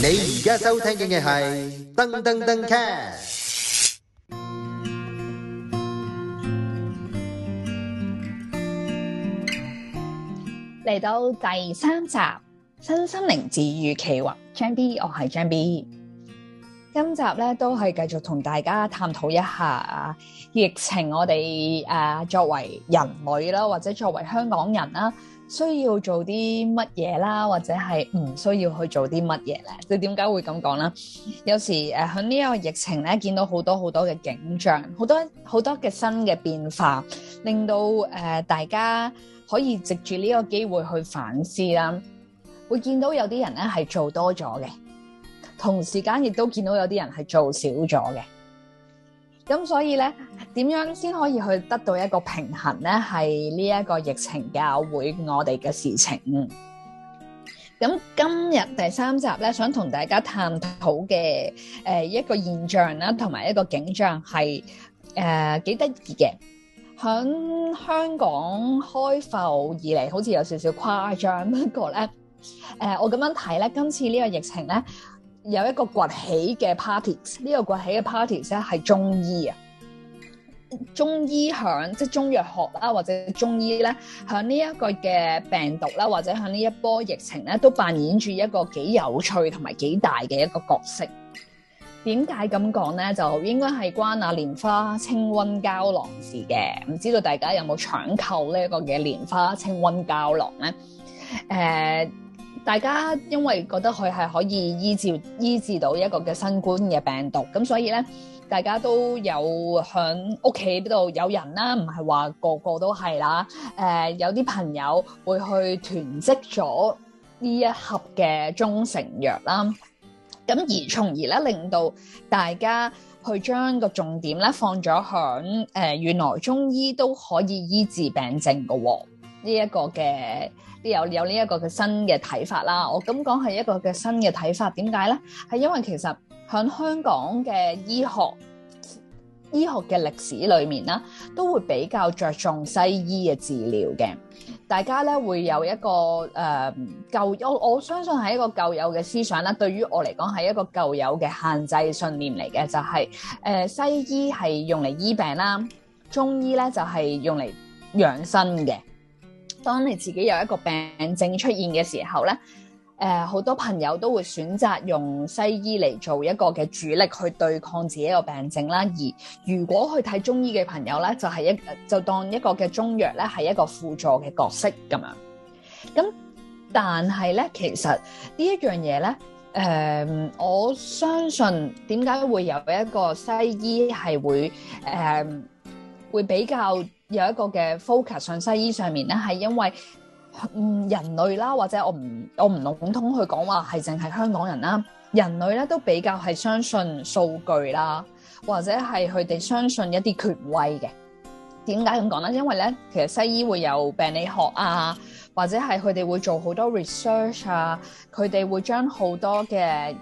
你而家收聽嘅係噔噔噔 cast。 嚟到第3集身心靈治癒企劃，張 B， 我係張 B。今集咧都係繼續同大家探討一下疫情，我哋作為人類啦，或者作為香港人啦，需要做啲乜嘢啦，或者係唔需要去做啲乜嘢咧？即係點解會咁講啦？有時喺呢個疫情咧，見到好多嘅景象，好多嘅新嘅變化，令到大家可以藉住呢個機會去反思啦。會見到有啲人咧係做多咗嘅，同時間亦都見到有啲人係做少咗嘅。咁所以咧，點樣先可以去得到一個平衡咧？係呢一個疫情教會我哋嘅事情。咁今日第3集咧，想同大家探討嘅一個現象啦，同埋一個景象係幾得意嘅。響香港開埠以嚟，好似有少少誇張，不過咧，我咁樣睇咧，今次呢個疫情咧，有一個崛起嘅 parties， 呢個崛起嘅 parties 咧係中醫啊，中醫響即係中藥學啦，或者中醫咧響呢一個嘅病毒啦，或者響呢一波疫情咧，都扮演住一個幾有趣同埋幾大嘅一個角色。點解咁講咧？就應該係關蓮花清瘟膠囊事嘅。唔知道大家有冇搶購呢一個嘅蓮花清瘟膠囊咧？大家因為覺得佢係可以醫治到一個嘅新冠嘅病毒，咁所以咧，大家都有響屋企度有人啦，唔係話個個都係啦。有啲朋友會去囤積咗呢一盒嘅中成藥啦。咁而從而咧，令到大家去將個重點咧放咗響原來中醫都可以醫治病症嘅喎，呢一個嘅有呢一個嘅新嘅睇法啦。我咁講係一個嘅新嘅睇法，點解咧？係因為其實響香港嘅醫學嘅歷史裏面啦，都會比較着重西醫嘅治療嘅。大家咧會有一個我相信係一個舊有嘅思想啦。對於我嚟講係一個舊有嘅限制信念嚟嘅，就係西醫係用嚟醫病啦，中醫咧就係用嚟養生嘅。當你自己有一個病症出現嘅時候咧，好多朋友都會選擇用西醫嚟做一個嘅主力去對抗自己一個病症啦。而如果去睇中醫嘅朋友咧，就當一個嘅中藥咧係一個輔助嘅角色咁樣。咁但係咧，其實呢一樣嘢咧，我相信點解會有一個西醫係會比較有一個嘅 focus 上西醫上面咧，係因為人類啦，或者我唔籠統去講話係淨係香港人啦，人類咧都比較係相信數據啦，或者係佢哋相信一啲權威嘅。點解咁講咧？因為咧，其實西醫會有病理學啊，或者係佢哋會做好多 research 啊，佢哋會將好多嘅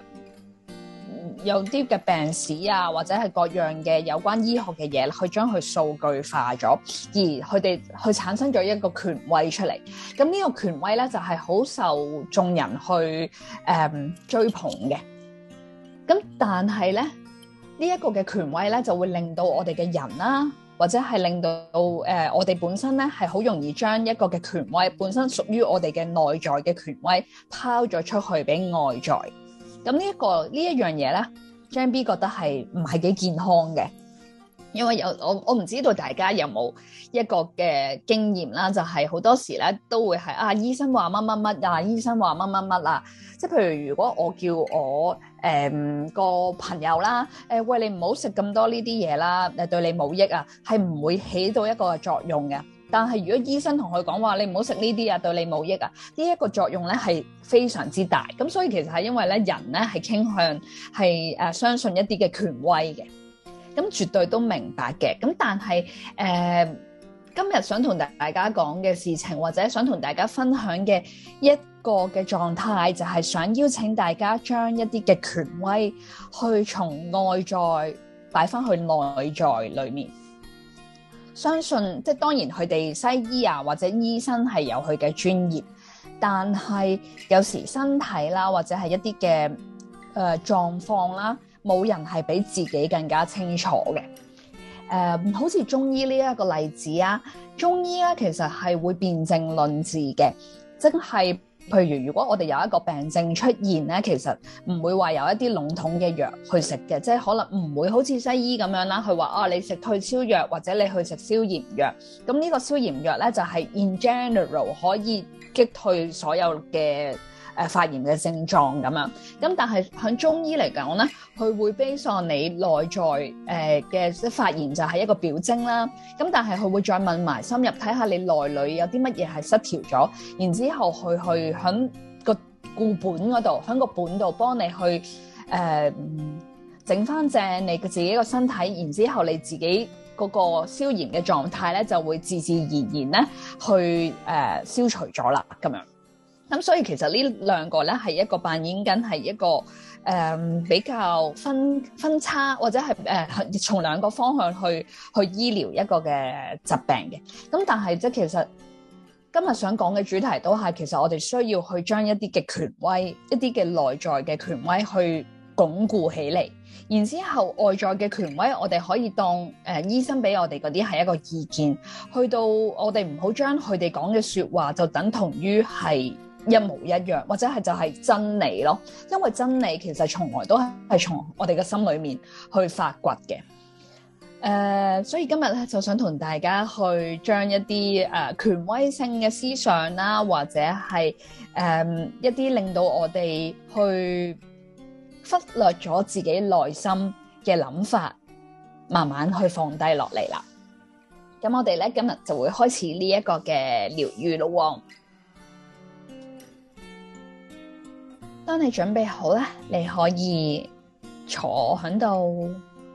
有啲嘅病史啊，或者係各樣嘅有關醫學嘅嘢，去將佢數據化咗，而佢哋去產生咗一個權威出嚟。咁呢個權威咧就係好受眾人去追捧嘅。咁但係咧，呢一個嘅權威咧就會令到我哋嘅人啦，或者係令到我哋本身咧係好容易將一個嘅權威本身屬於我哋嘅內在嘅權威拋咗出去俾外在。咁呢一樣嘢咧，張 B 覺得係唔係幾健康嘅，因為我唔知道大家有冇一個嘅經驗啦，就係好多時咧都會係醫生話乜乜乜啊，醫生話乜乜乜啊，即係譬如如果我叫我個朋友啦，喂，你唔好食咁多呢啲嘢啦，對你冇益啊，係唔會起到一個作用嘅。但係如果醫生同佢講話，你唔好食呢啲啊，對你冇益啊，呢一個作用咧係非常之大。咁所以其實係因為咧人咧係傾向係相信一啲嘅權威嘅，咁絕對都明白嘅。咁但係今日想同大家講嘅事情，或者想同大家分享嘅一個嘅狀態，就係想邀請大家將一啲嘅權威去從外在擺翻去內在裏面。相信即係當然佢哋西醫啊或者醫生係有佢嘅專業， 但係有時身體啦，或者係一啲嘅狀況啦，冇人係比自己更加清楚嘅。好似中醫呢一個例子啊，中醫咧其實係會辨證論治嘅，即係譬如如果我哋有一個病症出現咧，其實唔會話有一啲籠統嘅藥去食嘅，即係可能唔會好似西醫咁樣啦，佢話你食退燒藥或者你去食消炎藥，咁呢個消炎藥咧就係 in general 可以擊退所有嘅發炎嘅症狀咁樣，咁但係喺中醫嚟講咧，佢會 base on你內在嘅發炎就係一個表徵啦。咁但係佢會再問埋深入睇下你內裏有啲乜嘢係失調咗，然之後去喺個固本嗰度，喺個本度幫你去整翻正你自己個身體，然之後你自己嗰個消炎嘅狀態咧就會自自然然咧去消除咗啦咁樣。咁所以其實呢兩個咧係一個扮演緊係一個比較分叉或者係從兩個方向去醫療一個嘅疾病嘅。咁但係即係其實今日想講嘅主題都係其實我哋需要去將一啲嘅權威、一啲嘅內在嘅權威去鞏固起嚟，然之後外在嘅權威我哋可以當醫生俾我哋嗰啲係一個意見，去到我哋唔好將佢哋講嘅說話就等同於係一模一樣，或者係就係真理咯。因為真理其實從來都係從我哋嘅心裏面去發掘嘅。所以今日咧就想同大家去將一啲權威性嘅思想啦，或者係一啲令到我哋去忽略咗自己內心嘅諗法，慢慢去放低落嚟啦。咁我哋咧今日就會開始呢一個嘅療癒咯。當你準備好咧，你可以坐喺度。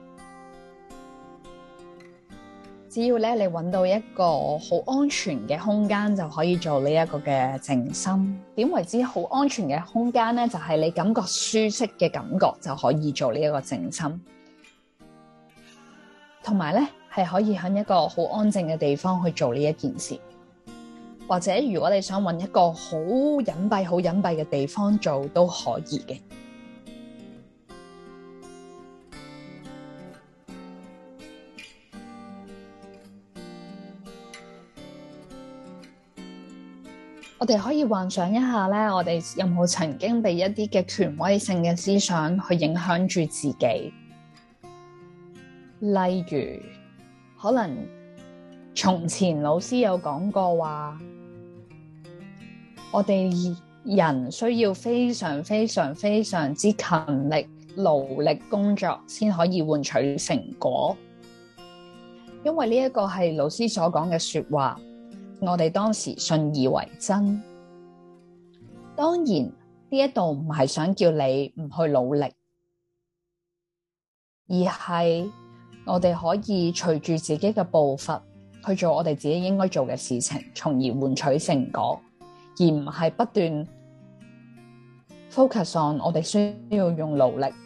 只要咧你揾到一個好安全嘅空間，就可以做呢一個嘅靜心。點為之好安全嘅空間咧？就係你感覺舒適嘅感覺就可以做呢一個靜心。同埋咧係可以喺一個好安靜嘅地方去做呢一件事。或者如果你想揾一個好隱蔽嘅地方做都可以嘅。我哋可以幻想一下咧，我哋有冇曾經被一啲嘅權威性嘅思想去影響住自己？例如，可能從前老師有講過話，我哋人需要非常之勤力、勞力工作先可以換取成果。因為呢一個係老師所講嘅說話，我哋當時信以為真。當然呢一度唔係想叫你唔去努力，而係我哋可以隨住自己嘅步伐去做我哋自己應該做嘅事情，從而換取成果，而唔係不斷 focus on 我哋需要用努力。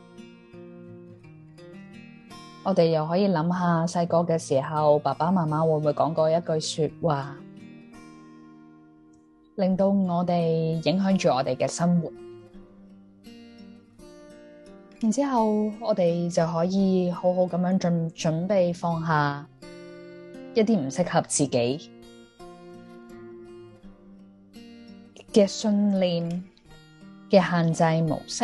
我哋又可以諗下細個嘅時候，爸爸媽媽會唔會講過一句說話，令到我哋影響住我哋嘅生活，然之後我哋就可以好好咁樣準備放下一啲唔適合自己嘅信念嘅限制模式。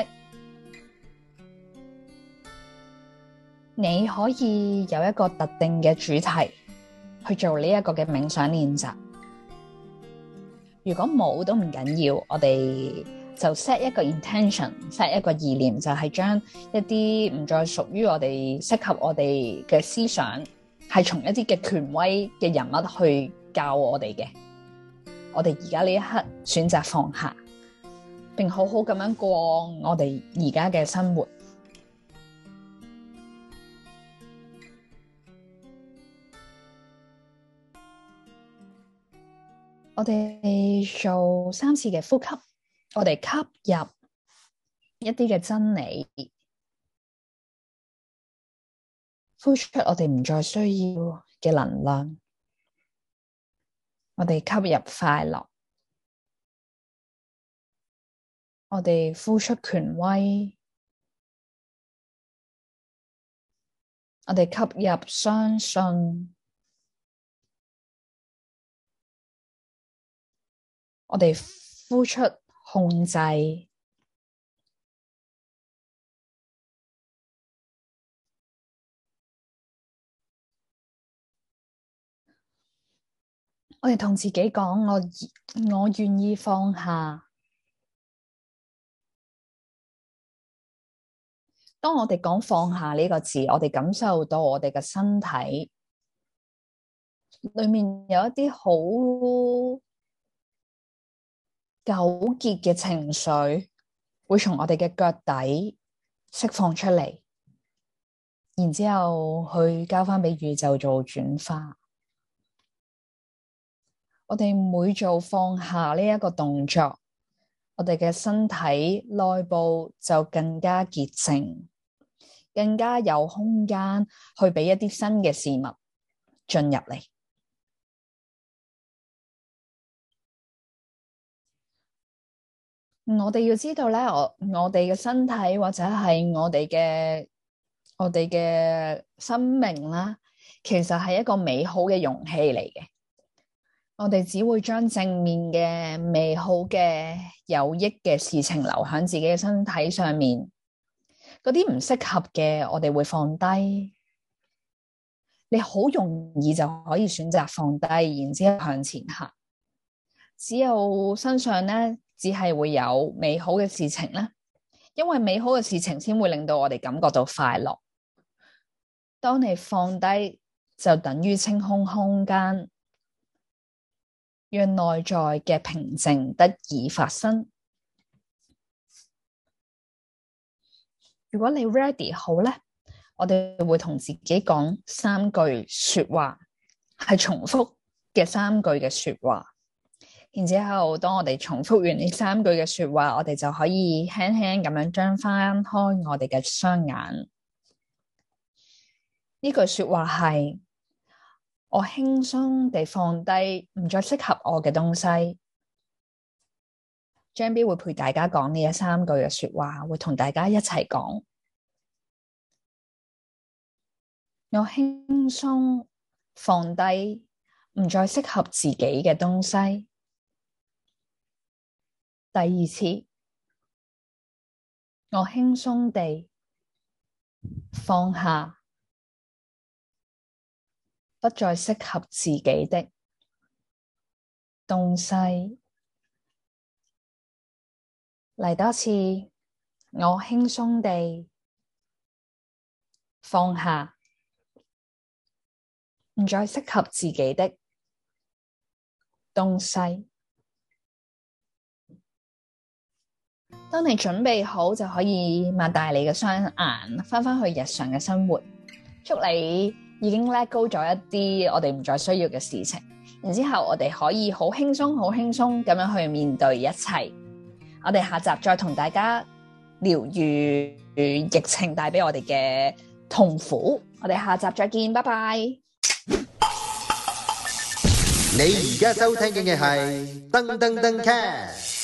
你可以有一個特定嘅主題去做呢一個嘅冥想練習。如果冇都唔緊要，我哋就 set 一個 intention，set 一個意念，就係將一啲唔再屬於我哋適合我哋嘅思想，係從一啲嘅權威嘅人物去教我哋嘅。我哋而家呢一刻選擇放下，並好好咁樣過我哋而家嘅生活。我哋做3次嘅呼吸，我哋吸入一啲嘅真理，呼出我哋唔再需要嘅能量。我哋吸入快樂， 我哋呼出權威，我哋吸入相信，我哋呼出控制。我哋同自己講，我願意放下。當我哋講放下呢個字，我哋感受到我哋嘅身體裏面有一啲好糾結嘅情緒，會從我哋嘅腳底釋放出嚟，然之後去交翻俾宇宙做轉化。我哋每做放下呢一個動作，我哋嘅身體內部就更加潔淨，更加有空間去俾一啲新嘅事物進入嚟。我哋要知道咧，我哋嘅身體或者係我哋嘅生命啦，其實係一個美好嘅容器嚟嘅。我哋只會將正面嘅、美好嘅、有益嘅事情留喺自己嘅身體上面，嗰啲唔適合嘅，我哋會放低。你好容易就可以選擇放低，然之後向前行。只有身上咧，只係會有美好嘅事情咧，因為美好嘅事情先會令到我哋感覺到快樂。當你放低，就等於清空空間，讓內在嘅平靜得以發生。如果你 ready 好咧，我哋會同自己講3句說話，係重複嘅3句嘅說話。然之後，當我哋重複完呢3句嘅說話，我哋就可以輕輕咁樣張翻開我哋嘅雙眼。呢句說話係：我輕鬆地放低唔再適合我嘅東西。張 B 會陪大家講呢3句嘅說話，會同大家一齊講。我輕鬆放低唔再適合自己嘅東西。第2次，我輕鬆地放下不再適合自己的東西。嚟多次，我輕鬆地放下唔再適合自己的東西。當你準備好，就可以擘大你嘅雙眼，翻去日常嘅生活。祝你已經 let go 咗一啲我哋唔再需要嘅事情，然之後我哋可以好輕鬆咁樣去面對一切。我哋下集再同大家療癒疫情帶俾我哋嘅痛苦。我哋下集再見，拜拜。 你而家收聽嘅係噔噔噔 cast。